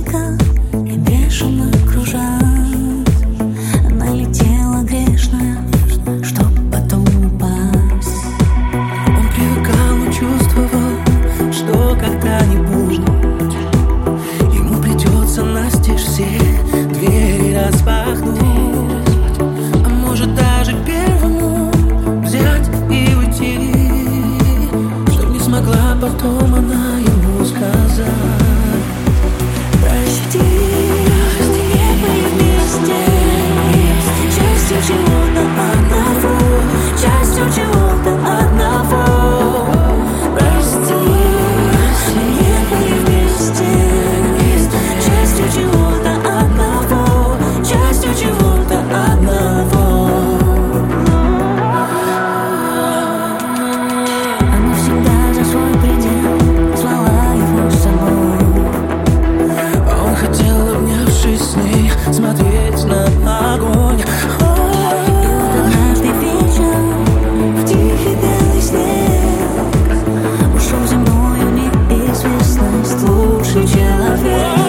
ветка и бешено кружась. Налетела грешная, чтоб потом упасть. Он привыкал, но чувствовал, что когда-нибудь ему придется настежь все двери распахнуть. А может даже первому взять и уйти, чтоб не смогла потом она ему сказать: Прости, не были вместе, частью чего-то одного, частью чего-то одного. Прости, не были вместе, частью чего-то одного, частью чего-то одного. Она всегда за свой предел звала его с собой. Он хотел, обнявшись с ней, смотреть на огонь. И вот однажды вечером в тихий белый снег ушел земною неизвестность лучший человек.